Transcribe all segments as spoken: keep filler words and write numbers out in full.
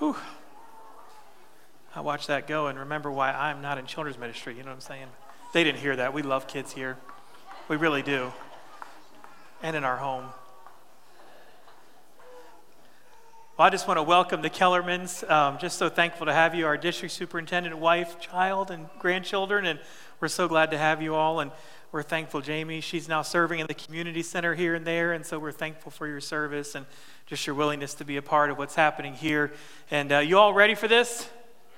Whew. I watch that go and remember why I'm not in children's ministry. You know what I'm saying? They didn't hear that. We love kids here. We really do. And in our home. Well, I just want to welcome the Kellermans. Um, just so thankful to have you, our district superintendent, wife, child, and grandchildren. And we're so glad to have you all. And we're thankful, Jamie. She's now serving in the community center here and there. And so we're thankful for your service and just your willingness to be a part of what's happening here. And uh, you all ready for this?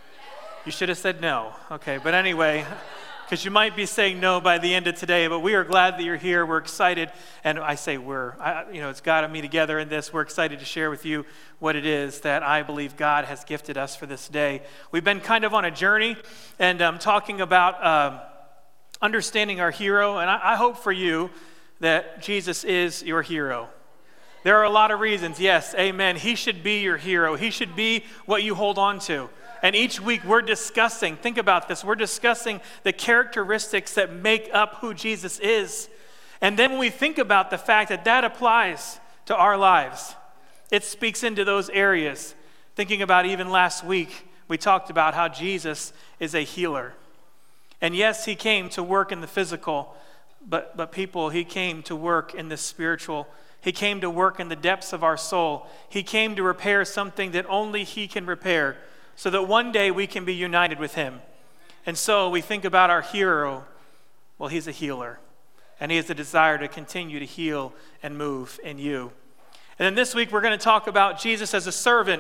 You should have said no. Okay, but anyway, because you might be saying no by the end of today, but we are glad that you're here. We're excited, and I say we're, I, you know, it's God and me together in this. We're excited to share with you what it is that I believe God has gifted us for this day. We've been kind of on a journey, and um, talking about um, understanding our hero, and I, I hope for you that Jesus is your hero. There are a lot of reasons, yes, amen. He should be your hero. He should be what you hold on to. And each week we're discussing, think about this, we're discussing the characteristics that make up who Jesus is. And then when we think about the fact that that applies to our lives, it speaks into those areas. Thinking about even last week, we talked about how Jesus is a healer. And yes, he came to work in the physical, but, but people, he came to work in the spiritual. He came to work in the depths of our soul. He came to repair something that only he can repair, so that one day we can be united with him. And so we think about our hero. Well, he's a healer. And he has a desire to continue to heal and move in you. And then this week we're going to talk about Jesus as a servant.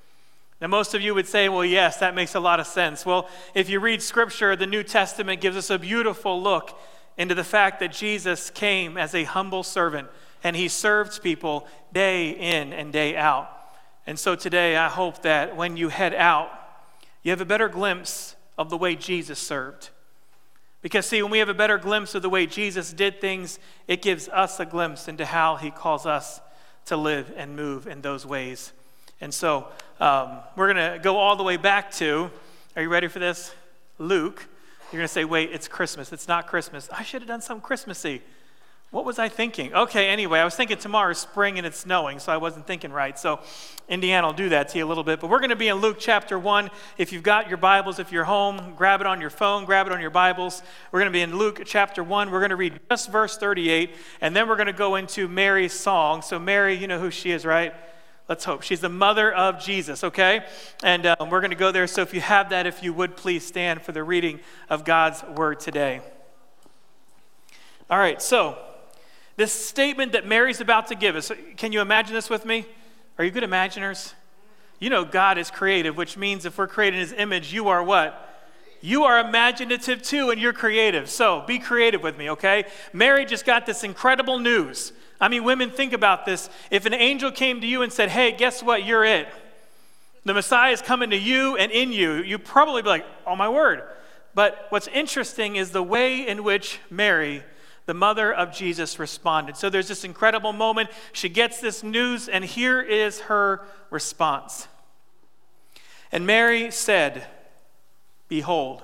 Now most of you would say, well, yes, that makes a lot of sense. Well, if you read Scripture, the New Testament gives us a beautiful look into the fact that Jesus came as a humble servant. And he served people day in and day out. And so today, I hope that when you head out, you have a better glimpse of the way Jesus served. Because see, when we have a better glimpse of the way Jesus did things, it gives us a glimpse into how he calls us to live and move in those ways. And so um, we're going to go all the way back to, are you ready for this? Luke. You're going to say, wait, it's Christmas. It's not Christmas. I should have done something Christmassy. What was I thinking? Okay, anyway, I was thinking tomorrow's spring and it's snowing, so I wasn't thinking right. So Indiana will do that to you a little bit. But we're going to be in Luke chapter one. If you've got your Bibles, if you're home, grab it on your phone, grab it on your Bibles. We're going to be in Luke chapter one. We're going to read just verse thirty-eight, and then we're going to go into Mary's song. So Mary, you know who she is, right? Let's hope. She's the mother of Jesus, okay? And um, we're going to go there. So if you have that, if you would, please stand for the reading of God's word today. All right, so this statement that Mary's about to give us, can you imagine this with me? Are you good imaginers? You know God is creative, which means if we're created in his image, you are what? You are imaginative too, and you're creative. So be creative with me, okay? Mary just got this incredible news. I mean, women, think about this. If an angel came to you and said, hey, guess what? You're it. The Messiah is coming to you and in you. You'd probably be like, oh my word. But what's interesting is the way in which Mary, the mother of Jesus, responded. So there's this incredible moment. She gets this news, and here is her response. And Mary said, behold,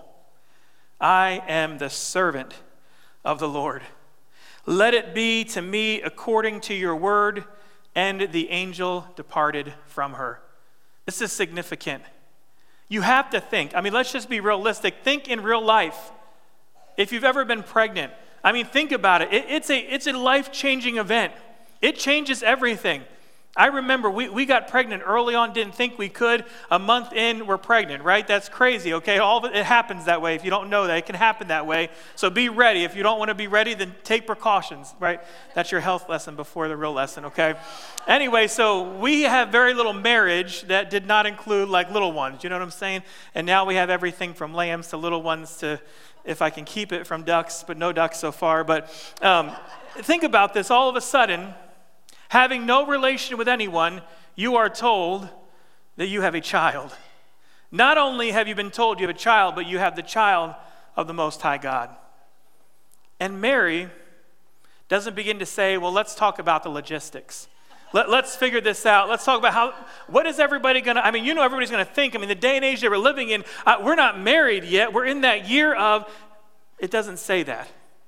I am the servant of the Lord. Let it be to me according to your word. And the angel departed from her. This is significant. You have to think. I mean, let's just be realistic. Think in real life. If you've ever been pregnant, I mean, think about it. it it's a it's a life-changing event. It changes everything. I remember we, we got pregnant early on, didn't think we could. A month in, we're pregnant, right? That's crazy, okay? All of it, it happens that way. If you don't know that, it can happen that way. So be ready. If you don't want to be ready, then take precautions, right? That's your health lesson before the real lesson, okay? Anyway, so we have very little marriage that did not include like little ones, you know what I'm saying? And now we have everything from lambs to little ones to, if I can keep it, from ducks, but no ducks so far. But um, think about this. All of a sudden, having no relation with anyone, you are told that you have a child. Not only have you been told you have a child, but you have the child of the Most High God. And Mary doesn't begin to say, well, let's talk about the logistics. Let, let's figure this out. Let's talk about how, what is everybody going to, I mean, you know everybody's going to think. I mean, the day and age that we're living in, uh, we're not married yet. We're in that year of, it doesn't say that.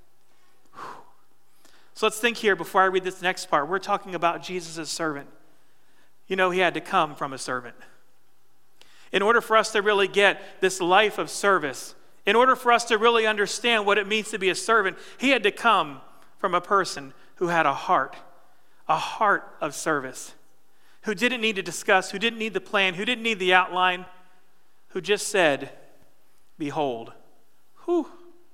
So let's think here before I read this next part. We're talking about Jesus' servant. You know, he had to come from a servant. In order for us to really get this life of service, in order for us to really understand what it means to be a servant, he had to come from a person who had a heart, a heart of service, who didn't need to discuss, who didn't need the plan, who didn't need the outline, who just said, behold, whew,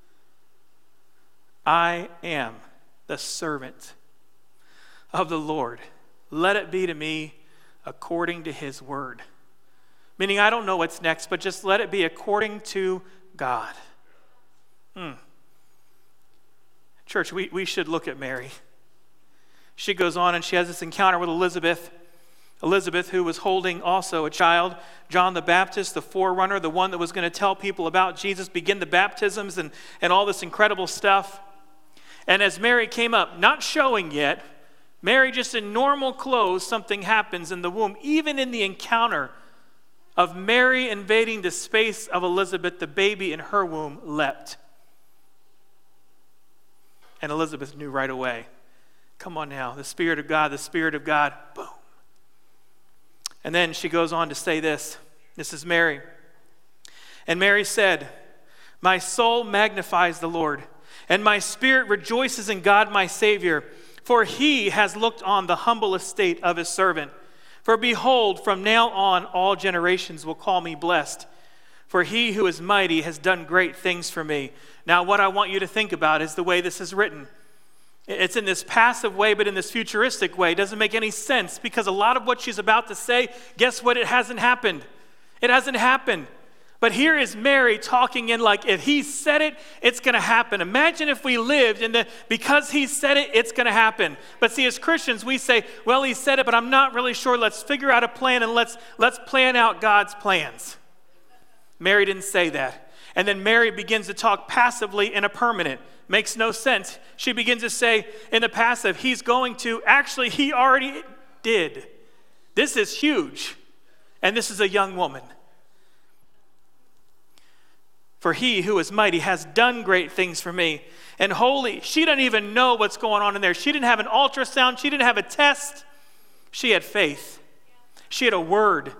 I am the servant of the Lord. Let it be to me according to his word. Meaning I don't know what's next, but just let it be according to God. Hmm. Church, we, we should look at Mary. She goes on and she has this encounter with Elizabeth. Elizabeth, who was holding also a child, John the Baptist, the forerunner, the one that was going to tell people about Jesus, begin the baptisms and, and all this incredible stuff. And as Mary came up, not showing yet, Mary just in normal clothes, something happens in the womb. Even in the encounter of Mary invading the space of Elizabeth, the baby in her womb leapt. And Elizabeth knew right away. Come on now, the Spirit of God, the Spirit of God, boom. And then she goes on to say this. This is Mary. And Mary said, my soul magnifies the Lord, and my spirit rejoices in God my Savior, for he has looked on the humble estate of his servant. For behold, from now on all generations will call me blessed. For he who is mighty has done great things for me. Now what I want you to think about is the way this is written. It's in this passive way, but in this futuristic way. It doesn't make any sense because a lot of what she's about to say, guess what? It hasn't happened. It hasn't happened. But here is Mary talking in like, if he said it, it's going to happen. Imagine if we lived and the, because he said it, it's going to happen. But see, as Christians, we say, well, he said it, but I'm not really sure. Let's figure out a plan and let's, let's plan out God's plans. Mary didn't say that. And then Mary begins to talk passively in a permanent. Makes no sense. She begins to say in the passive, he's going to, actually, he already did. This is huge. And this is a young woman. For he who is mighty has done great things for me. And holy, she doesn't even know what's going on in there. She didn't have an ultrasound. She didn't have a test. She had faith. She had a word.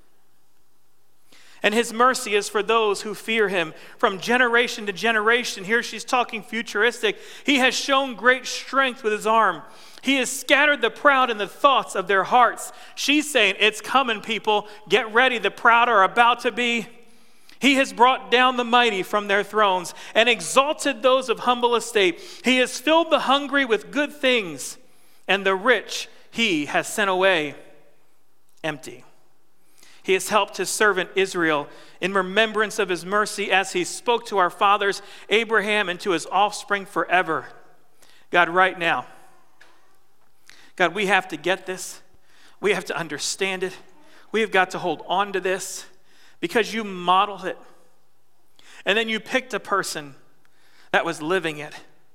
And his mercy is for those who fear him from generation to generation. Here she's talking futuristic. He has shown great strength with his arm. He has scattered the proud in the thoughts of their hearts. She's saying, it's coming, people. Get ready. The proud are about to be. He has brought down the mighty from their thrones and exalted those of humble estate. He has filled the hungry with good things, and the rich he has sent away empty. He has helped his servant Israel in remembrance of his mercy as he spoke to our fathers, Abraham, and to his offspring forever. God, right now, God, we have to get this. We have to understand it. We have got to hold on to this because you modeled it. And then you picked a person that was living it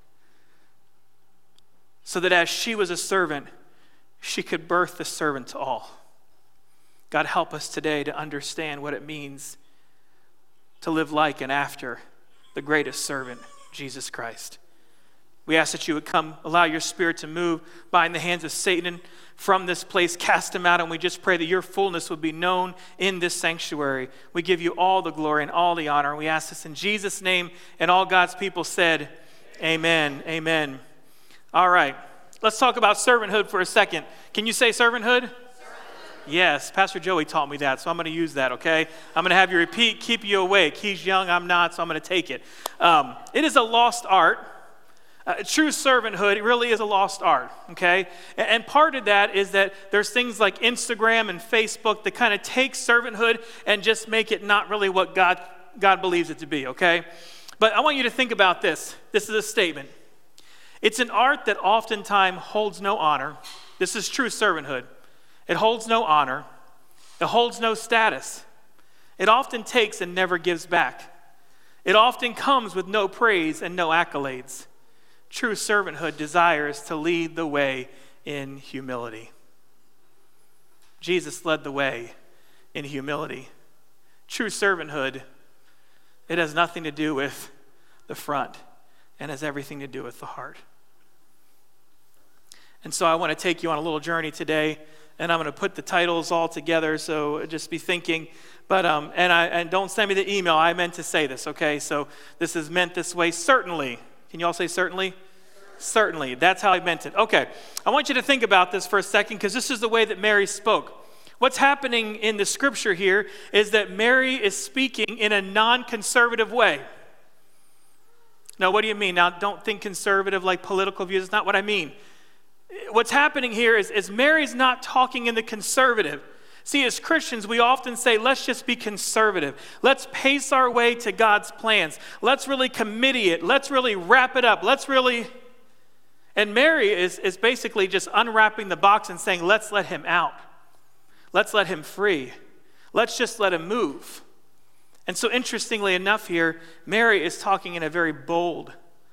so that as she was a servant, she could birth the servant to all. God, help us today to understand what it means to live like and after the greatest servant, Jesus Christ. We ask that you would come, allow your Spirit to move bind the hands of Satan from this place, cast him out, and we just pray that your fullness would be known in this sanctuary. We give you all the glory and all the honor, and we ask this in Jesus' name, and all God's people said, amen, amen. All right, let's talk about servanthood for a second. Can you say servanthood? Yes, Pastor Joey taught me that, so I'm going to use that, okay? I'm going to have you repeat, keep you awake. He's young, I'm not, so I'm going to take it. Um, it is a lost art. Uh, true servanthood, it really is a lost art, okay? And, and part of that is that there's things like Instagram and Facebook that kind of take servanthood and just make it not really what God, God believes it to be, okay? But I want you to think about this. This is a statement. It's an art that oftentimes holds no honor. This is true servanthood. It holds no honor. It holds no status. It often takes and never gives back. It often comes with no praise and no accolades. True servanthood desires to lead the way in humility. Jesus led the way in humility. True servanthood, it has nothing to do with the front and has everything to do with the heart. And so I want to take you on a little journey today and I'm going to put the titles all together, so just be thinking. But um, and I and don't send me the email. I meant to say this, okay? So this is meant this way. Certainly. Can you all say certainly? Certainly. That's how I meant it. Okay. I want you to think about this for a second, because this is the way that Mary spoke. What's happening in the scripture here is that Mary is speaking in a non-conservative way. Now, what do you mean? Now, don't think conservative like political views. It's not what I mean. What's happening here is, is Mary's not talking in the conservative. See, as Christians, we often say, let's just be conservative. Let's pace our way to God's plans. Let's really committee it. Let's really wrap it up. Let's really... And Mary is, is basically just unwrapping the box and saying, let's let him out. Let's let him free. Let's just let him move. And so interestingly enough here, Mary is talking in a very bold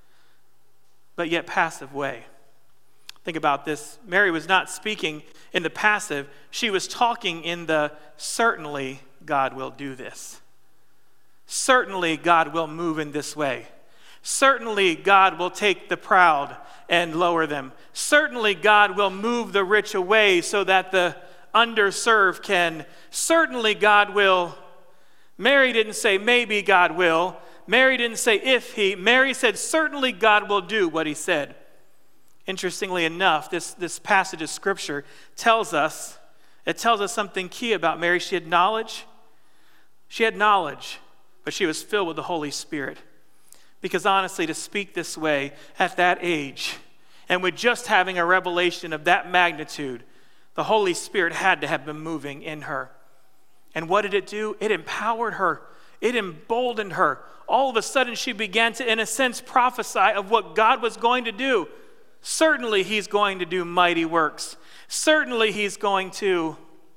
but yet passive way. Think about this. Mary was not speaking in the passive. She was talking in the certainly God will do this. Certainly God will move in this way. Certainly God will take the proud and lower them. Certainly God will move the rich away so that the underserved can. Certainly God will. Mary didn't say maybe God will. Mary didn't say if he. Mary said certainly God will do what he said. Interestingly enough, this, this passage of scripture tells us, it tells us something key about Mary. She had knowledge. She had knowledge, but she was filled with the Holy Spirit. Because honestly, to speak this way at that age, and with just having a revelation of that magnitude, the Holy Spirit had to have been moving in her. And what did it do? It empowered her. It emboldened her. All of a sudden, she began to, in a sense, prophesy of what God was going to do. Certainly, he's going to do mighty works. Certainly, he's going to.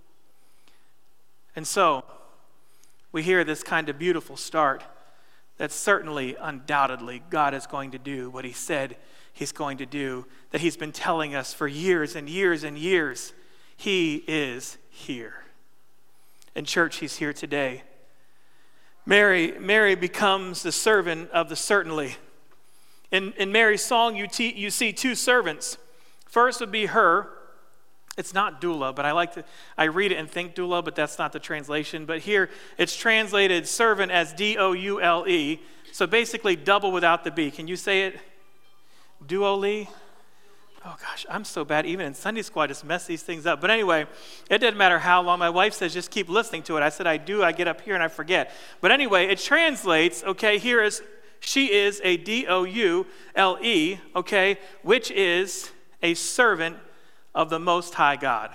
And so, we hear this kind of beautiful start that certainly, undoubtedly, God is going to do what he said he's going to do, that he's been telling us for years and years and years. He is here. In church, he's here today. Mary, Mary becomes the servant of the certainly. In, in Mary's song, you, te- you see two servants. First would be her. It's not doula, but I like to, I read it and think doula, but that's not the translation. But here, it's translated servant as D O U L E. So basically, double without the B. Can you say it? Duoli? Oh gosh, I'm so bad. Even in Sunday school, I just mess these things up. But anyway, it doesn't matter how long. My wife says, just keep listening to it. I said, I do. I get up here and I forget. But anyway, it translates, okay, here is, she is a D O U L E, okay, which is a servant of the Most High God.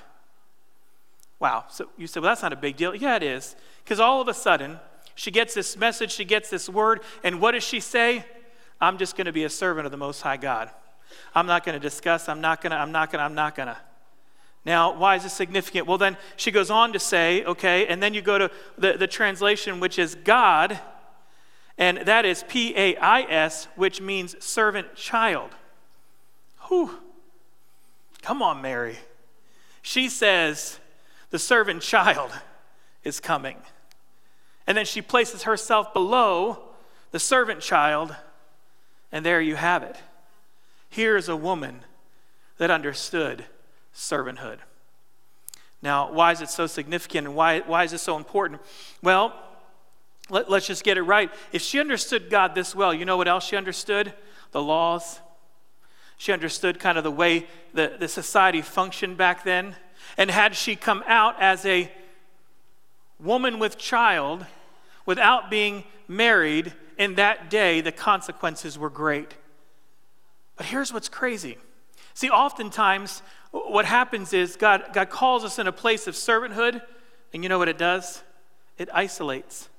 Wow. So you said, well, that's not a big deal. Yeah, it is. Because all of a sudden, she gets this message, she gets this word, and what does she say? I'm just going to be a servant of the Most High God. I'm not going to discuss, I'm not going to, I'm not going to, I'm not going to. Now, why is this significant? Well, then she goes on to say, okay, and then you go to the, the translation, which is God, and that is P A I S, which means servant child. Whew. Come on, Mary. She says the servant child is coming. And then she places herself below the servant child, and there you have it. Here's a woman that understood servanthood. Now, why is it so significant, and why, why is it so important? Well, let, let's just get it right. If she understood God this well, you know what else she understood? The laws. She understood kind of the way the, the society functioned back then. And had she come out as a woman with child without being married, in that day, the consequences were great. But here's what's crazy. See, oftentimes, what happens is God, God calls us in a place of servanthood, and you know what it does? It isolates.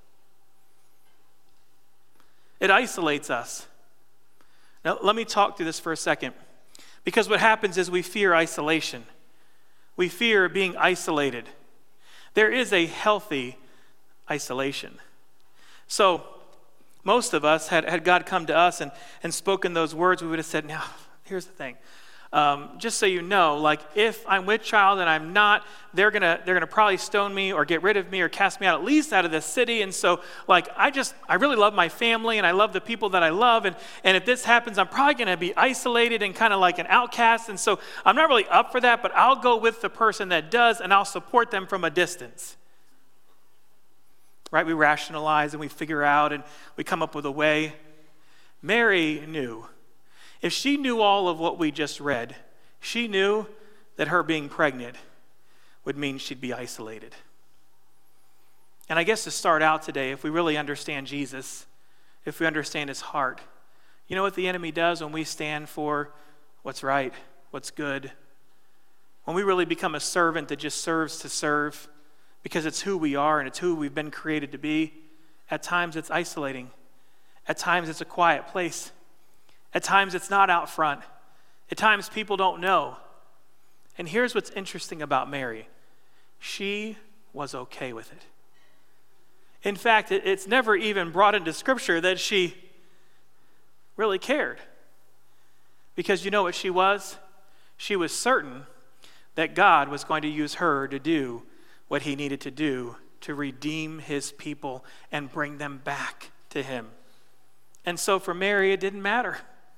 It isolates us. Now, let me talk through this for a second. Because what happens is we fear isolation. We fear being isolated. There is a healthy isolation. So, most of us, had, had God come to us and, and spoken those words, we would have said, now, here's the thing. Um, just so you know, like if I'm with child and I'm not, they're gonna they're gonna probably stone me or get rid of me or cast me out, at least out of this city. And so like I just I really love my family and I love the people that I love. And, and if this happens, I'm probably gonna be isolated and kind of like an outcast. And so I'm not really up for that, but I'll go with the person that does and I'll support them from a distance. Right? We rationalize and we figure out and we come up with a way. Mary knew. If she knew all of what we just read, she knew that her being pregnant would mean she'd be isolated. And I guess to start out today, if we really understand Jesus, if we understand his heart, you know what the enemy does when we stand for what's right, what's good? When we really become a servant that just serves to serve because it's who we are and it's who we've been created to be, at times it's isolating. At times it's a quiet place. At times it's not out front. At times people don't know. And here's what's interesting about Mary. She was okay with it. In fact, it, it's never even brought into Scripture that she really cared. Because you know what she was? She was certain that God was going to use her to do what he needed to do to redeem his people and bring them back to him. And so for Mary, it didn't matter.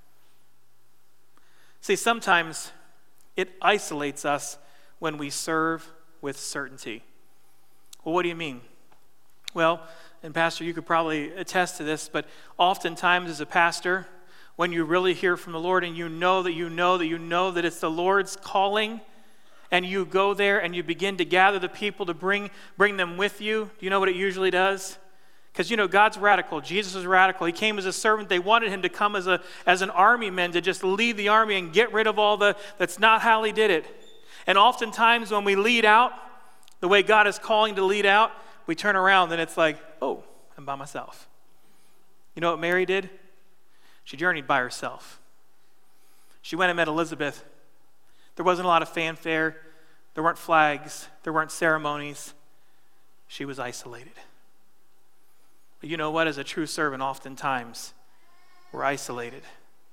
See, sometimes it isolates us when we serve with certainty. Well, what do you mean? Well, and Pastor, you could probably attest to this, but oftentimes as a pastor, when you really hear from the Lord and you know that you know that you know that it's the Lord's calling, and you go there and you begin to gather the people to bring, bring them with you, do you know what it usually does? Because, you know, God's radical. Jesus was radical. He came as a servant. They wanted him to come as a as an army man to just lead the army and get rid of all the, that's not how he did it. And oftentimes when we lead out, the way God is calling to lead out, we turn around and it's like, oh, I'm by myself. You know what Mary did? She journeyed by herself. She went and met Elizabeth. There wasn't a lot of fanfare. There weren't flags. There weren't ceremonies. She was isolated. But you know what? As a true servant, oftentimes we're isolated.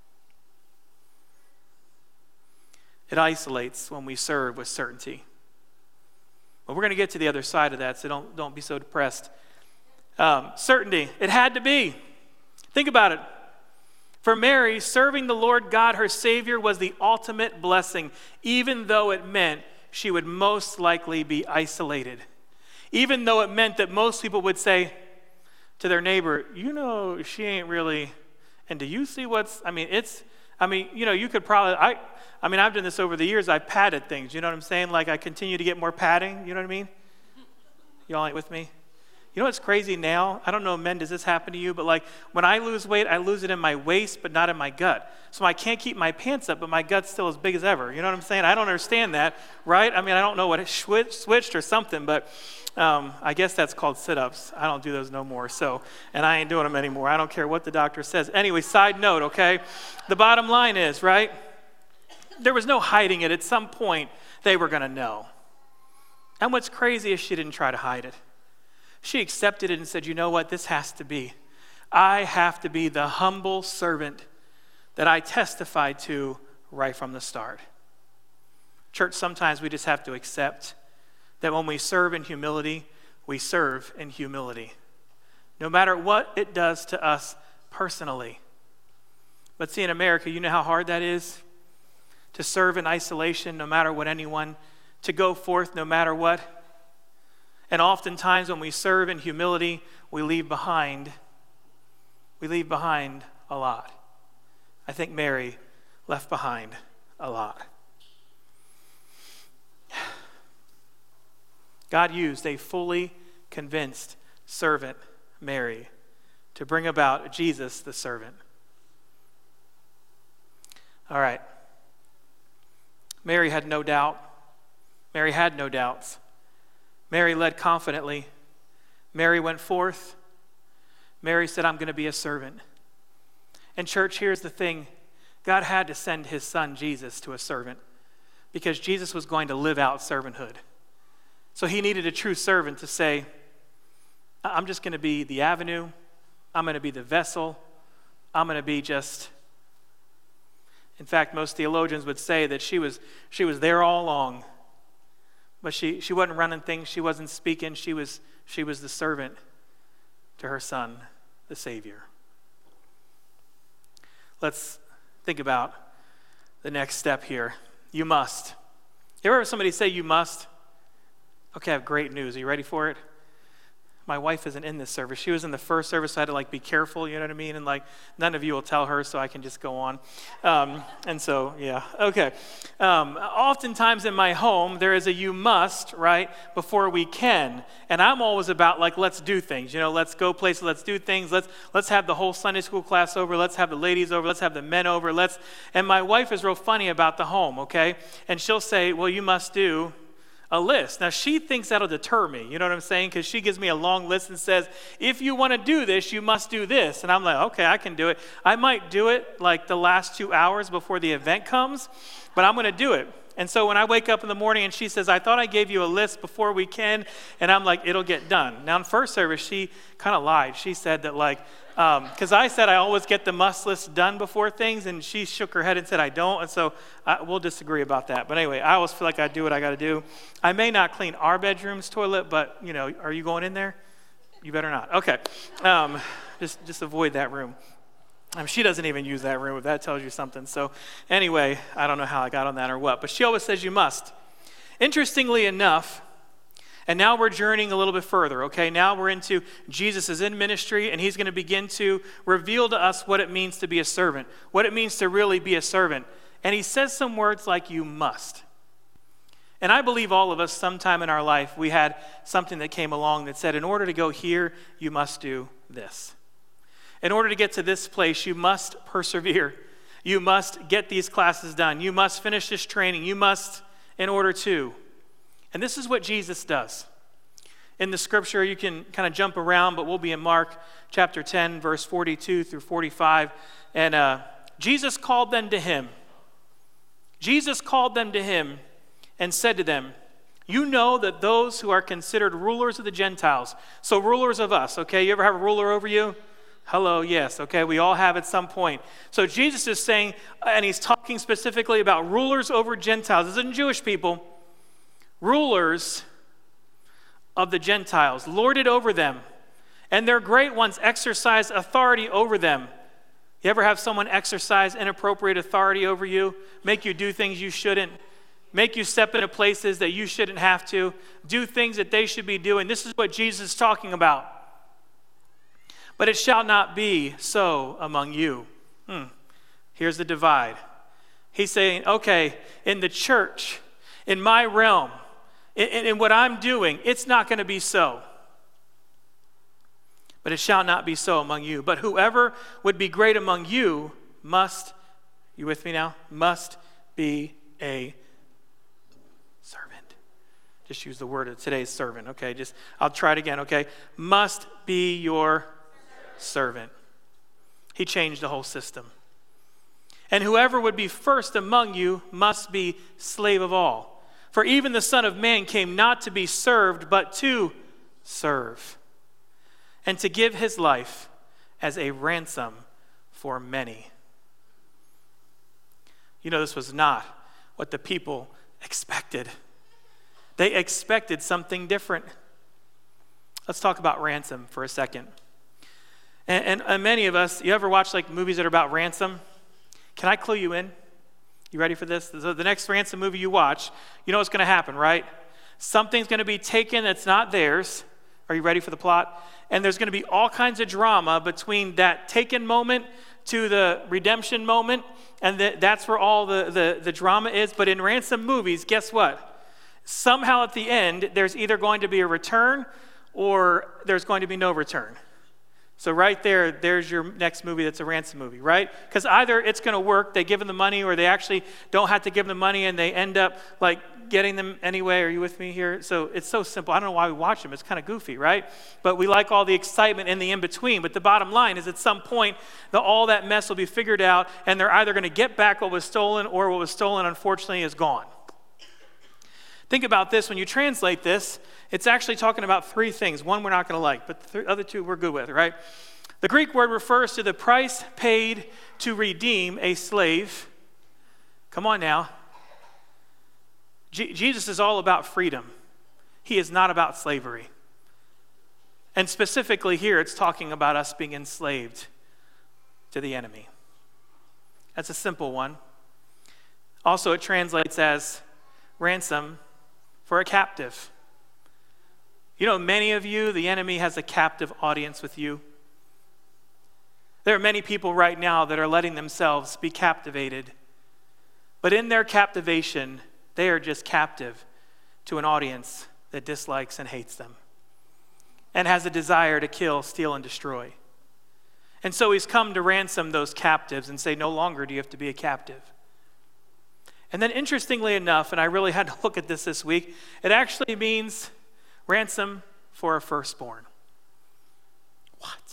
It isolates when we serve with certainty. But we're going to get to the other side of that, so don't, don't be so depressed. Um, certainty. It had to be. Think about it. For Mary, serving the Lord God, her Savior, was the ultimate blessing, even though it meant she would most likely be isolated. Even though it meant that most people would say to their neighbor, you know, she ain't really, and do you see what's, I mean, it's, I mean, you know, you could probably, I, I mean, I've done this over the years. I've padded things, you know what I'm saying? Like I continue to get more padding, you know what I mean? Y'all ain't with me? You know what's crazy now? I don't know, men, does this happen to you? But like when I lose weight, I lose it in my waist, but not in my gut. So I can't keep my pants up, but my gut's still as big as ever. You know what I'm saying? I don't understand that, right? I mean, I don't know what it switched or something, but um, I guess that's called sit-ups. I don't do those no more. So, and I ain't doing them anymore. I don't care what the doctor says. Anyway, side note, okay? The bottom line is, right? There was no hiding it. At some point, they were going to know. And what's crazy is she didn't try to hide it. She accepted it and said, you know what, this has to be. I have to be the humble servant that I testified to right from the start. Church, sometimes we just have to accept that when we serve in humility, we serve in humility. No matter what it does to us personally. But see, in America, you know how hard that is? To serve in isolation, no matter what anyone, to go forth no matter what. And oftentimes when we serve in humility, we leave behind, we leave behind a lot. I think Mary left behind a lot. God used a fully convinced servant, Mary, to bring about Jesus the servant. All right. Mary had no doubt. Mary had no doubts. Mary led confidently. Mary went forth. Mary said, I'm going to be a servant. And church, here's the thing. God had to send his son Jesus to a servant because Jesus was going to live out servanthood. So he needed a true servant to say, I'm just going to be the avenue. I'm going to be the vessel. I'm going to be just... In fact, most theologians would say that she was she was there all along. But she, she wasn't running things, she wasn't speaking, she was she was the servant to her son, the Savior. Let's think about the next step here. You must. You ever heard somebody say you must? Okay, I have great news. Are you ready for it? My wife isn't in this service. She was in the first service, so I had to like be careful, you know what I mean? And like none of you will tell her, so I can just go on. Um, and so, yeah, okay. Um, oftentimes in my home, there is a you must, right, before we can. And I'm always about like, let's do things, you know, let's go places, let's do things. Let's let's have the whole Sunday school class over. Let's have the ladies over. Let's have the men over. Let's. And my wife is real funny about the home, okay? And she'll say, well, you must do a list. Now, she thinks that'll deter me, you know what I'm saying? Because she gives me a long list and says, if you want to do this, you must do this. And I'm like, okay, I can do it. I might do it like the last two hours before the event comes, but I'm going to do it. And so when I wake up in the morning and she says, I thought I gave you a list before we can, and I'm like, it'll get done. Now, in first service, she kind of lied. She said that like, because um, I said I always get the must list done before things, and she shook her head and said I don't, and so I, we'll disagree about that. But anyway, I always feel like I do what I got to do. I may not clean our bedroom's toilet, but, you know, are you going in there? You better not. Okay. Um, just, just avoid that room. Um, she doesn't even use that room, if that tells you something. So anyway, I don't know how I got on that or what, but she always says you must. Interestingly enough, and now we're journeying a little bit further, okay? Now we're into Jesus is in ministry, and he's going to begin to reveal to us what it means to be a servant, what it means to really be a servant. And he says some words like you must. And I believe all of us, sometime in our life, we had something that came along that said, in order to go here, you must do this. In order to get to this place, you must persevere. You must get these classes done. You must finish this training. You must, in order to. And this is what Jesus does. In the scripture, you can kind of jump around, but we'll be in Mark chapter ten, verse forty-two through forty-five. And uh, Jesus called them to him. Jesus called them to him and said to them, you know that those who are considered rulers of the Gentiles, so rulers of us, okay? You ever have a ruler over you? Hello, yes, okay, we all have at some point. So Jesus is saying, and he's talking specifically about rulers over Gentiles. This isn't Jewish people. Rulers of the Gentiles, lorded over them, and their great ones exercise authority over them. You ever have someone exercise inappropriate authority over you, make you do things you shouldn't, make you step into places that you shouldn't have to, do things that they should be doing? This is what Jesus is talking about. But it shall not be so among you. Hmm. Here's the divide. He's saying, okay, in the church, in my realm, in, in what I'm doing, it's not going to be so. But it shall not be so among you. But whoever would be great among you must, you with me now? Must be a servant. Just use the word of today's servant, okay? Just, I'll try it again, okay? Must be your servant. He changed the whole system. And whoever would be first among you must be slave of all. For even the Son of Man came not to be served, but to serve, and to give his life as a ransom for many. You know, this was not what the people expected. They expected something different. Let's talk about ransom for a second. And, and, and many of us, you ever watch like movies that are about ransom? Can I clue you in? You ready for this? So the next ransom movie you watch, you know what's going to happen, right? Something's going to be taken that's not theirs. Are you ready for the plot? And there's going to be all kinds of drama between that taken moment to the redemption moment, and the, that's where all the, the, the drama is. But in ransom movies, guess what? Somehow at the end, there's either going to be a return or there's going to be no return. So right there, there's your next movie that's a ransom movie, right? Because either it's going to work, they give them the money, or they actually don't have to give them the money and they end up like getting them anyway. Are you with me here? So it's so simple. I don't know why we watch them. It's kind of goofy, right? But we like all the excitement in the in-between. But the bottom line is at some point, the, all that mess will be figured out, and they're either going to get back what was stolen, or what was stolen, unfortunately, is gone. Think about this. When you translate this, it's actually talking about three things. One we're not going to like, but the other two we're good with, right? The Greek word refers to the price paid to redeem a slave. Come on now. Je- Jesus is all about freedom. He is not about slavery. And specifically here, it's talking about us being enslaved to the enemy. That's a simple one. Also, it translates as ransom for a captive. You know, many of you, the enemy has a captive audience with you. There are many people right now that are letting themselves be captivated. But in their captivation, they are just captive to an audience that dislikes and hates them and has a desire to kill, steal, and destroy. And so he's come to ransom those captives and say, no longer do you have to be a captive. And then interestingly enough, and I really had to look at this this week, it actually means ransom for a firstborn. What?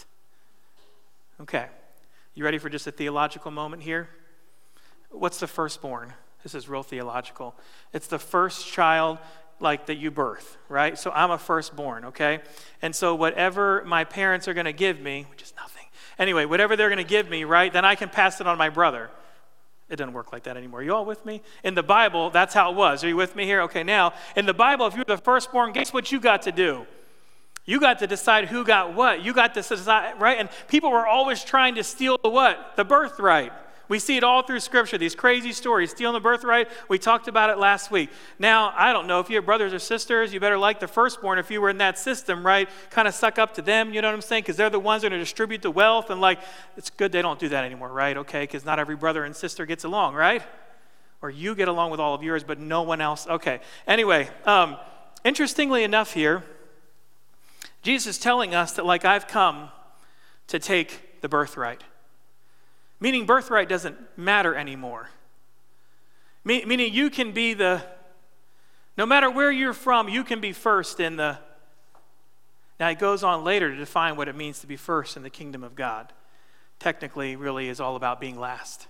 Okay. You ready for just a theological moment here? What's the firstborn? This is real theological. It's the first child like that you birth, right? So I'm a firstborn, okay? And so whatever my parents are going to give me, which is nothing. Anyway, whatever they're going to give me, right, then I can pass it on to my brother. It doesn't work like that anymore. Are you all with me? In the Bible, that's how it was. Are you with me here? Okay, now, in the Bible, if you're the firstborn, guess what you got to do? You got to decide who got what. You got to decide, right? And people were always trying to steal the what? The birthright. We see it all through Scripture, these crazy stories, stealing the birthright. We talked about it last week. Now, I don't know, if you have brothers or sisters, you better like the firstborn if you were in that system, right? Kind of suck up to them, you know what I'm saying? Because they're the ones that are going to distribute the wealth. And like, it's good they don't do that anymore, right? Okay, because not every brother and sister gets along, right? Or you get along with all of yours, but no one else. Okay, anyway, um, interestingly enough here, Jesus is telling us that like I've come to take the birthright. Meaning birthright doesn't matter anymore. Me- meaning you can be the, no matter where you're from, you can be first in the, now it goes on later to define what it means to be first in the kingdom of God. Technically, really is all about being last.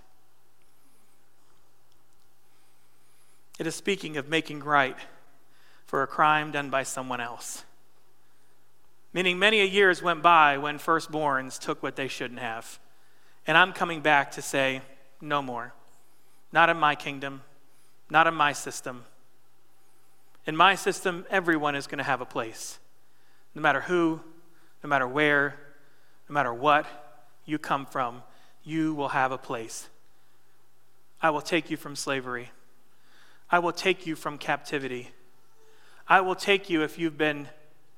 It is speaking of making right for a crime done by someone else. Meaning many a years went by when firstborns took what they shouldn't have. And I'm coming back to say, no more. Not in my kingdom, not in my system. In my system, everyone is going to have a place. No matter who, no matter where, no matter what you come from, you will have a place. I will take you from slavery. I will take you from captivity. I will take you if you've been,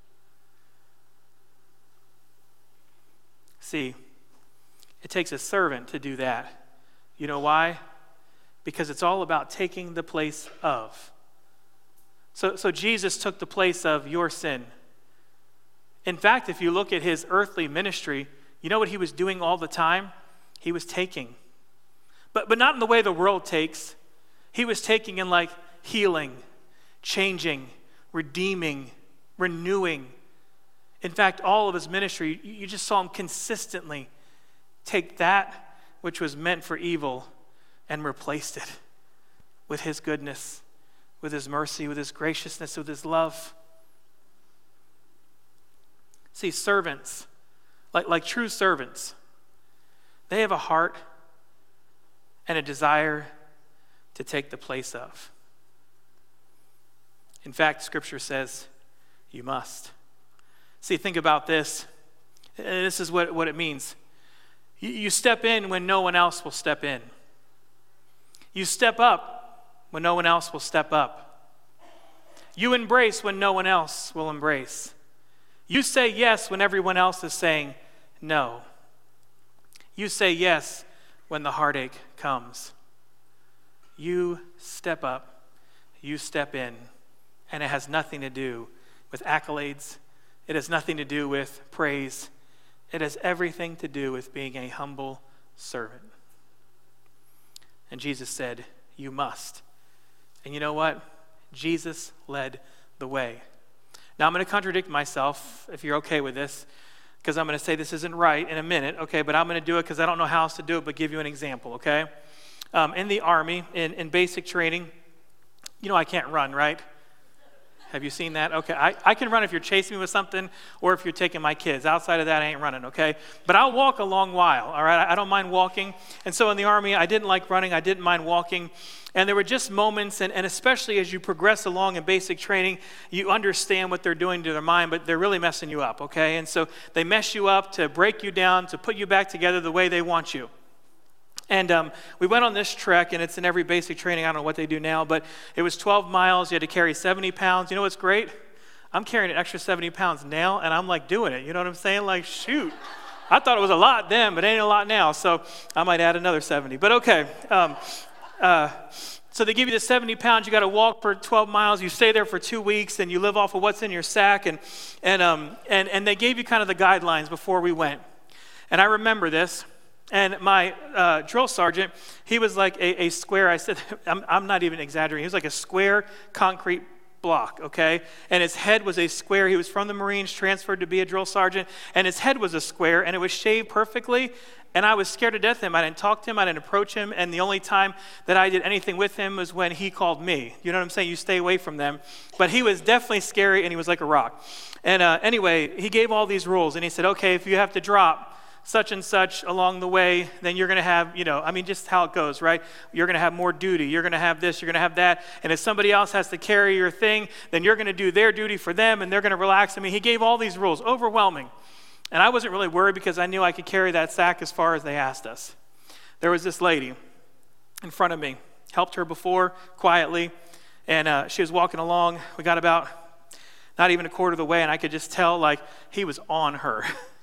see, it takes a servant to do that. You know why? Because it's all about taking the place of. So, so Jesus took the place of your sin. In fact, if you look at his earthly ministry, you know what he was doing all the time? He was taking. But, but not in the way the world takes. He was taking in like healing, changing, redeeming, renewing. In fact, all of his ministry, you just saw him consistently take that which was meant for evil and replaced it with his goodness, with his mercy, with his graciousness, with his love. See, servants, like, like true servants, they have a heart and a desire to take the place of. In fact, Scripture says, you must. See, think about this. This is what, what it means. You step in when no one else will step in. You step up when no one else will step up. You embrace when no one else will embrace. You say yes when everyone else is saying no. You say yes when the heartache comes. You step up, you step in, and it has nothing to do with accolades. It has nothing to do with praise. It has everything to do with being a humble servant. And Jesus said, you must. And you know what? Jesus led the way. Now I'm going to contradict myself, if you're okay with this, because I'm going to say this isn't right in a minute, okay? But I'm going to do it because I don't know how else to do it, but give you an example, okay? Um, in the Army, in, in basic training, you know I can't run, right? Have you seen that? Okay, I, I can run if you're chasing me with something or if you're taking my kids. Outside of that, I ain't running, okay? But I'll walk a long while, all right? I, I don't mind walking. And so in the Army, I didn't like running. I didn't mind walking. And there were just moments, and, and especially as you progress along in basic training, you understand what they're doing to their mind, but they're really messing you up, okay? And so they mess you up to break you down, to put you back together the way they want you. And um, we went on this trek, and it's in every basic training. I don't know what they do now, but it was twelve miles. You had to carry seventy pounds. You know what's great? I'm carrying an extra seventy pounds now, and I'm like doing it. You know what I'm saying? Like, shoot. I thought it was a lot then, but it ain't a lot now, so I might add another seventy. But okay. Um, uh, so they give you the seventy pounds. You got to walk for twelve miles. You stay there for two weeks, and you live off of what's in your sack. And and um and and they gave you kind of the guidelines before we went. And I remember this. And my uh, drill sergeant, he was like a, a square, I said, I'm, I'm not even exaggerating, he was like a square concrete block, okay? And his head was a square. He was from the Marines, transferred to be a drill sergeant, and his head was a square, and it was shaved perfectly, and I was scared to death of him. I didn't talk to him, I didn't approach him, and the only time that I did anything with him was when he called me. You know what I'm saying? You stay away from them. But he was definitely scary, and he was like a rock. And uh, anyway, he gave all these rules, and he said, okay, if you have to drop such and such along the way, then you're going to have, you know, I mean, just how it goes, right? You're going to have more duty. You're going to have this. You're going to have that. And if somebody else has to carry your thing, then you're going to do their duty for them, and they're going to relax. I mean, he gave all these rules, overwhelming. And I wasn't really worried because I knew I could carry that sack as far as they asked us. There was this lady in front of me. Helped her before, quietly, and uh, she was walking along. We got about not even a quarter of the way, and I could just tell, like, he was on her.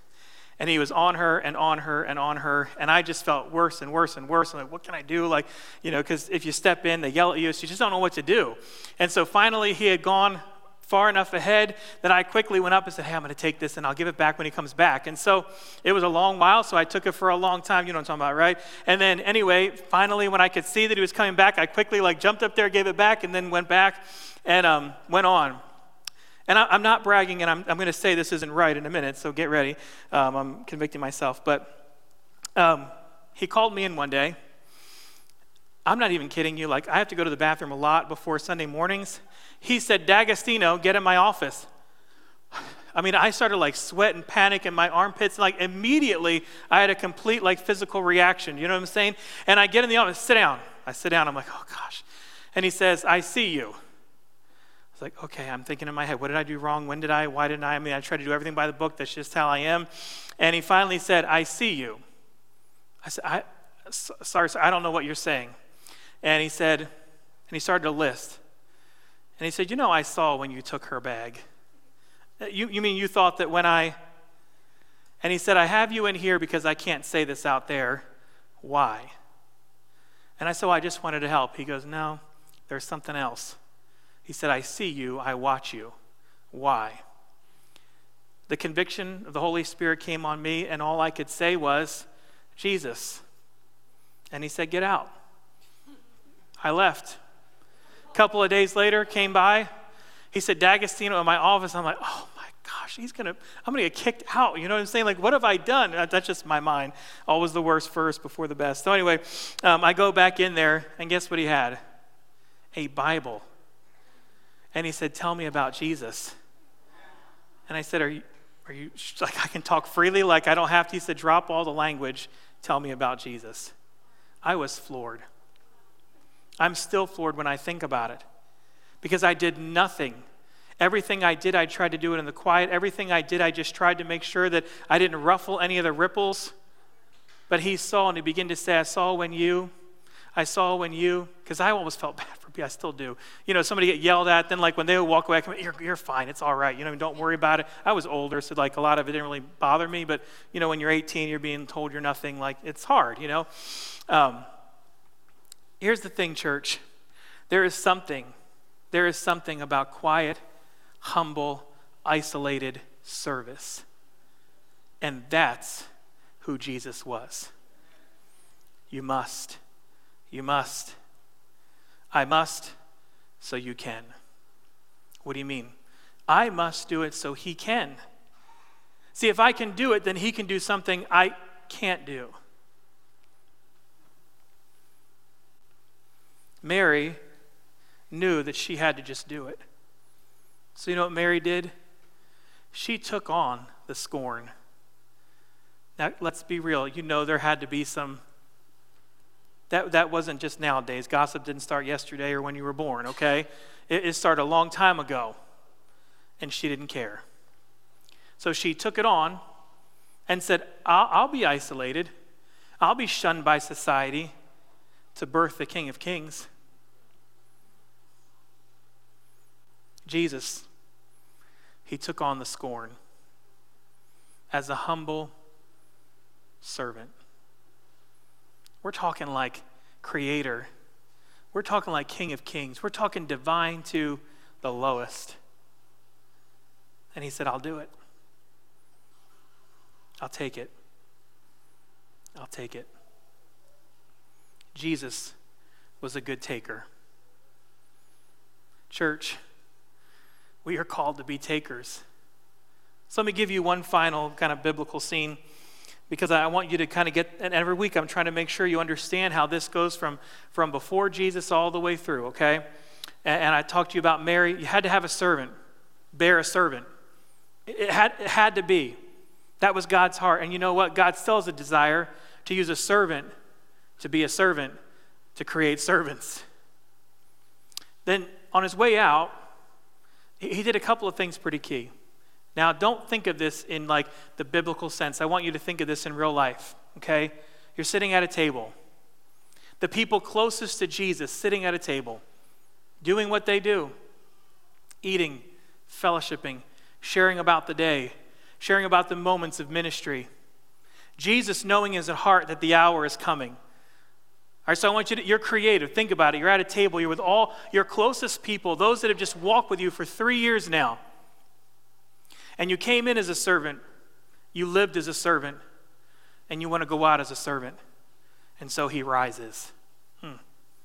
And he was on her and on her and on her. And I just felt worse and worse and worse. I'm like, what can I do? Like, you know, because if you step in, they yell at you. So you just don't know what to do. And so finally, he had gone far enough ahead that I quickly went up and said, hey, I'm going to take this and I'll give it back when he comes back. And so it was a long while, so I took it for a long time. You know what I'm talking about, right? And then anyway, finally, when I could see that he was coming back, I quickly like jumped up there, gave it back, and then went back and um, went on. And I, I'm not bragging, and I'm, I'm going to say this isn't right in a minute, so get ready. Um, I'm convicting myself. But um, he called me in one day. I'm not even kidding you. Like, I have to go to the bathroom a lot before Sunday mornings. He said, D'Agostino, get in my office. I mean, I started like sweat and panic in my armpits. Like immediately, I had a complete like physical reaction. You know what I'm saying? And I get in the office, sit down. I sit down. I'm like, oh gosh. And he says, I see you. I was like, okay, I'm thinking in my head, what did I do wrong? When did I? Why didn't I? I mean, I try to do everything by the book. That's just how I am. And he finally said, I see you. I said, I, sorry, sir, I don't know what you're saying. And he said, and he started to list. And he said, you know, I saw when you took her bag. You, you mean you thought that when I, and he said, I have you in here because I can't say this out there. Why? And I said, well, I just wanted to help. He goes, no, there's something else. He said, I see you, I watch you. Why? The conviction of the Holy Spirit came on me, and all I could say was, Jesus. And he said, get out. I left. A couple of days later, came by. He said, D'Agostino in my office. I'm like, oh my gosh, he's gonna, I'm gonna get kicked out. You know what I'm saying? Like, what have I done? That's just my mind. Always the worst first before the best. So anyway, um, I go back in there, and guess what he had? A Bible. And he said, tell me about Jesus. And I said, are you, are you, like, I can talk freely, like I don't have to. He said, drop all the language, tell me about Jesus. I was floored. I'm still floored when I think about it because I did nothing. Everything I did, I tried to do it in the quiet. Everything I did, I just tried to make sure that I didn't ruffle any of the ripples. But he saw, and he began to say, I saw when you, I saw when you, because I almost felt bad for people. I still do. You know, somebody get yelled at, then like when they would walk away, I come, you're, you're fine, it's all right. You know, don't worry about it. I was older, so like a lot of it didn't really bother me. But, you know, when you're eighteen, you're being told you're nothing, like it's hard, you know. Um, here's the thing, church. There is something, there is something about quiet, humble, isolated service. And that's who Jesus was. You must. You must. I must, so you can. What do you mean? I must do it so he can. See, if I can do it, then he can do something I can't do. Mary knew that she had to just do it. So you know what Mary did? She took on the scorn. Now, let's be real. You know there had to be some, that, that wasn't just nowadays. Gossip didn't start yesterday or when you were born, okay? It, it started a long time ago, and she didn't care. So she took it on and said, I'll, I'll be isolated. I'll be shunned by society to birth the King of Kings. Jesus, he took on the scorn as a humble servant. We're talking like creator. We're talking like King of Kings. We're talking divine to the lowest. And he said, I'll do it. I'll take it. I'll take it. Jesus was a good taker. Church, we are called to be takers. So let me give you one final kind of biblical scene, because I want you to kind of get, and every week I'm trying to make sure you understand how this goes from, from before Jesus all the way through, okay? And, and I talked to you about Mary. You had to have a servant, bear a servant. It, it, had, it had to be. That was God's heart. And you know what? God still has a desire to use a servant to be a servant, to create servants. Then on his way out, he, he did a couple of things pretty key. Now, don't think of this in like the biblical sense. I want you to think of this in real life, okay? You're sitting at a table. The people closest to Jesus sitting at a table, doing what they do, eating, fellowshipping, sharing about the day, sharing about the moments of ministry. Jesus knowing in his heart that the hour is coming. All right, so I want you to, you're creative. Think about it. You're at a table. You're with all your closest people, those that have just walked with you for three years now. And you came in as a servant, you lived as a servant, and you want to go out as a servant. And so he rises. Hmm.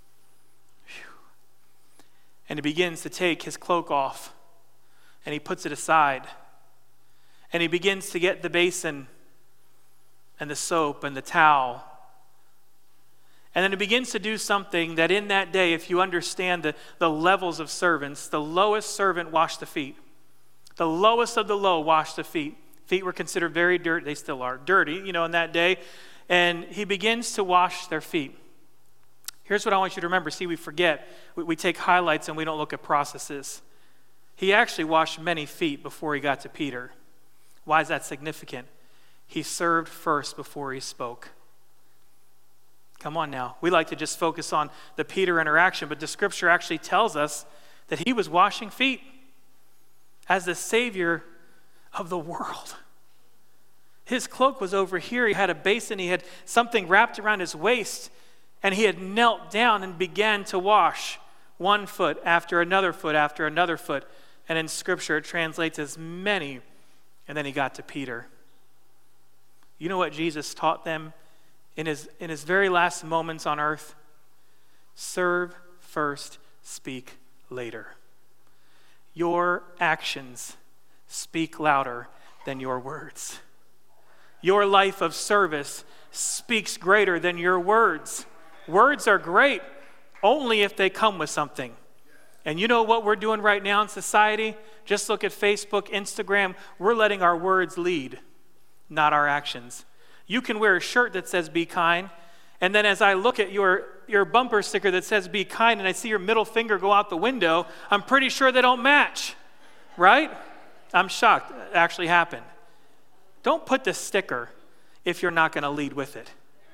And he begins to take his cloak off, and he puts it aside. And he begins to get the basin and the soap and the towel. And then he begins to do something that in that day, if you understand the, the levels of servants, the lowest servant washed the feet. The lowest of the low washed the feet. Feet were considered very dirty. They still are dirty, you know, in that day. And he begins to wash their feet. Here's what I want you to remember. See, we forget. We, we take highlights and we don't look at processes. He actually washed many feet before he got to Peter. Why is that significant? He served first before he spoke. Come on now. We like to just focus on the Peter interaction, but the scripture actually tells us that he was washing feet as the Savior of the world. His cloak was over here. He had a basin. He had something wrapped around his waist, and he had knelt down and began to wash one foot after another foot after another foot. And in Scripture, it translates as many. And then he got to Peter. You know what Jesus taught them in his, in his very last moments on earth? Serve first, speak later. Your actions speak louder than your words. Your life of service speaks greater than your words. Words are great only if they come with something. And you know what we're doing right now in society? Just look at Facebook, Instagram. We're letting our words lead, not our actions. You can wear a shirt that says be kind, and then as I look at your, your bumper sticker that says be kind and I see your middle finger go out the window, I'm pretty sure they don't match, right? I'm shocked. It actually happened. Don't put the sticker if you're not going to lead with it.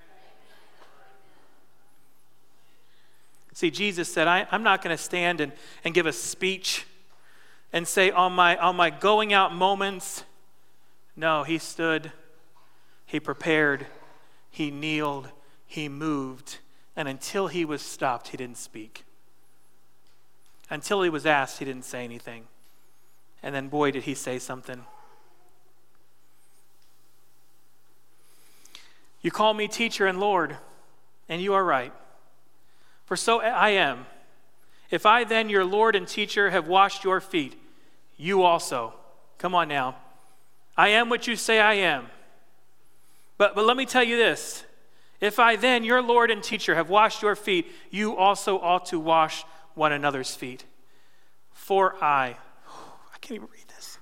See, Jesus said, I, I'm not going to stand and, and give a speech and say on my, on my going out moments. No, he stood, he prepared, he kneeled, he moved, and until he was stopped, he didn't speak. Until he was asked, he didn't say anything. And then, boy, did he say something. You call me teacher and Lord, and you are right. For so I am. If I then, your Lord and teacher, have washed your feet, you also. Come on now. I am what you say I am. But, but let me tell you this. If I then, your Lord and teacher, have washed your feet, you also ought to wash one another's feet. For I, I can't even read this.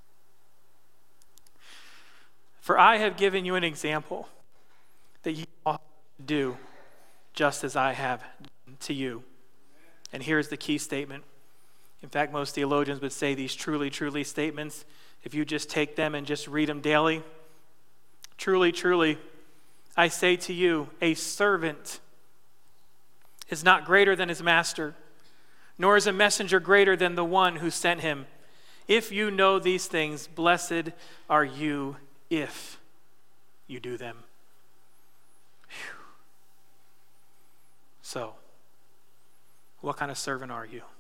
For I have given you an example that you ought to do just as I have done to you. And here's the key statement. In fact, most theologians would say these truly, truly statements, if you just take them and just read them daily, truly, truly, I say to you, a servant is not greater than his master, nor is a messenger greater than the one who sent him. If you know these things, blessed are you if you do them. Whew. So, what kind of servant are you?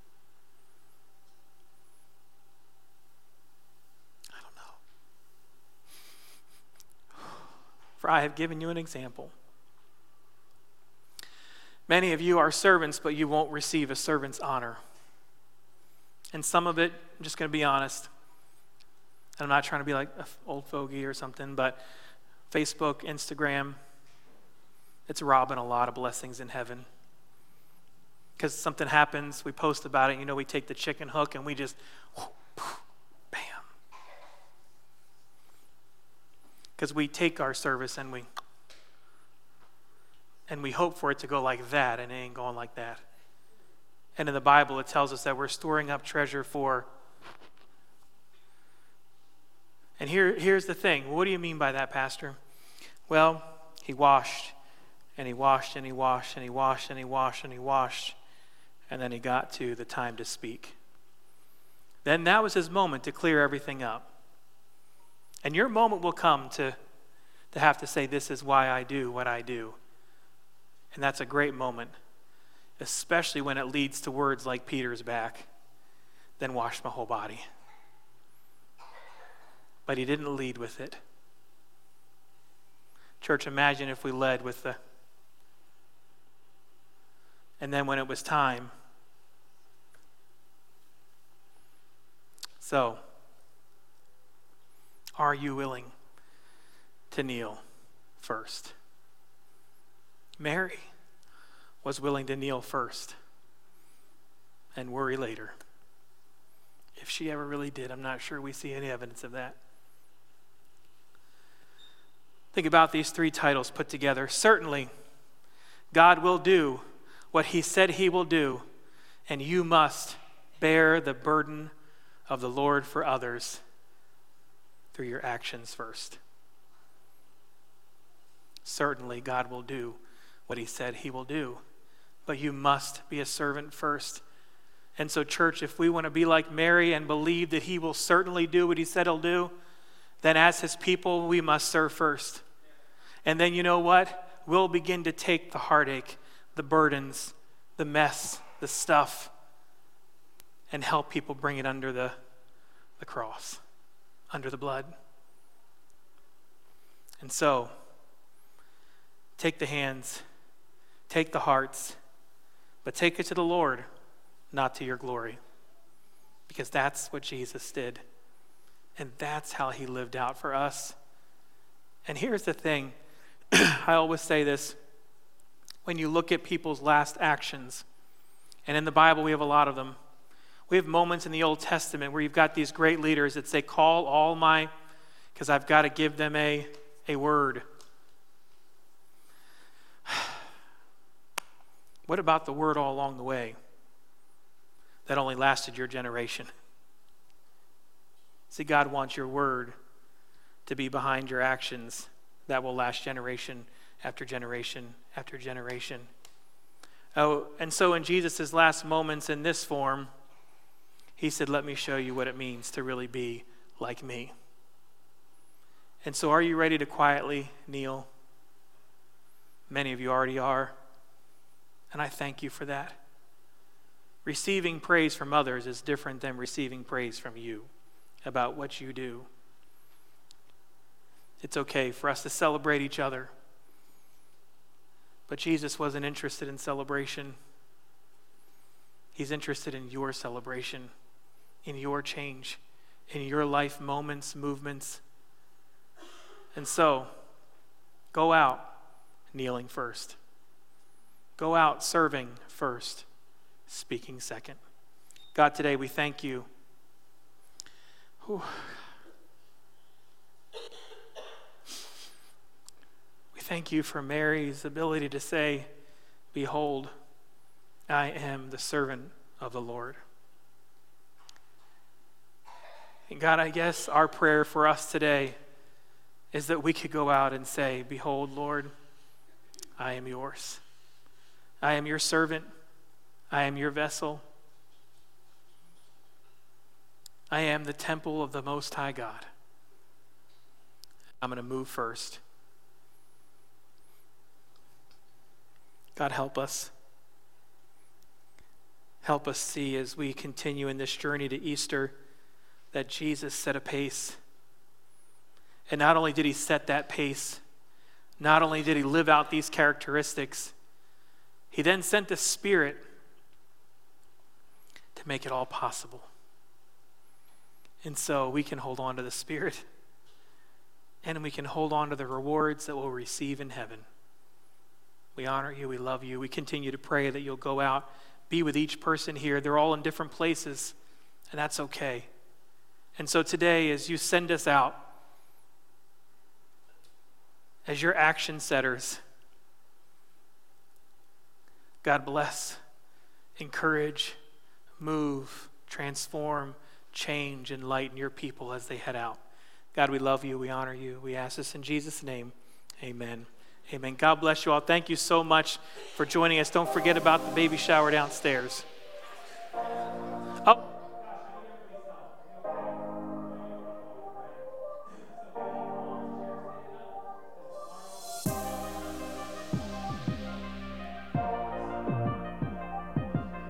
I don't know. For I have given you an example. Many of you are servants, but you won't receive a servant's honor. And some of it, I'm just going to be honest, and I'm not trying to be like an old fogey or something, but Facebook, Instagram, it's robbing a lot of blessings in heaven. Because something happens, we post about it, you know, we take the chicken hook and we just, bam. Because we take our service and we, and we hope for it to go like that, and it ain't going like that. And in the Bible, it tells us that we're storing up treasure for. And here, here's the thing. What do you mean by that, Pastor? Well, he washed, and he washed, and he washed, and he washed, and he washed, and he washed. And then he got to the time to speak. Then that was his moment to clear everything up. And your moment will come to, to have to say, this is why I do what I do. And that's a great moment, especially when it leads to words like Peter's back, then wash my whole body. But he didn't lead with it. Church, imagine if we led with the, and then when it was time. So, are you willing to kneel first? Mary was willing to kneel first and worry later. If she ever really did, I'm not sure we see any evidence of that. Think about these three titles put together. Certainly, God will do what he said he will do, and you must bear the burden of the Lord for others through your actions first. Certainly, God will do what he said he will do, but you must be a servant first. And so, church, if we want to be like Mary and believe that he will certainly do what he said he'll do, then as his people, we must serve first. And then you know what? We'll begin to take the heartache, the burdens, the mess, the stuff, and help people bring it under the, the cross, under the blood. And so, take the hands, take the hearts, but take it to the Lord, not to your glory. Because that's what Jesus did. And that's how he lived out for us. And here's the thing. I always say this. When you look at people's last actions, and in the Bible we have a lot of them, we have moments in the Old Testament where you've got these great leaders that say, call all my, because I've got to give them a, a word. What about the word all along the way that only lasted your generation? See, God wants your word to be behind your actions that will last generation after generation after generation. Oh, and so in Jesus' last moments in this form, he said, let me show you what it means to really be like me. And so are you ready to quietly kneel? Many of you already are. And I thank you for that. Receiving praise from others is different than receiving praise from you about what you do. It's okay for us to celebrate each other. But Jesus wasn't interested in celebration. He's interested in your celebration, in your change, in your life moments, movements. And so, go out kneeling first. Go out serving first, speaking second. God, today we thank you Whew. We thank you for Mary's ability to say, behold, I am the servant of the Lord. And God, I guess our prayer for us today is that we could go out and say, behold, Lord, I am yours. I am your servant. I am your vessel. I am the temple of the Most High God. I'm going to move first. God, help us. Help us see as we continue in this journey to Easter that Jesus set a pace. And not only did he set that pace, not only did he live out these characteristics, he then sent the Spirit to make it all possible. And so we can hold on to the Spirit, and we can hold on to the rewards that we'll receive in heaven. We honor you, we love you. We continue to pray that you'll go out, be with each person here. They're all in different places, and that's okay. And so today, as you send us out, as your action setters, God bless, encourage, move, transform, change, enlighten your people as they head out. God, we love you, we honor you. We ask this in Jesus' name, amen. Amen. God bless you all. Thank you so much for joining us. Don't forget about the baby shower downstairs.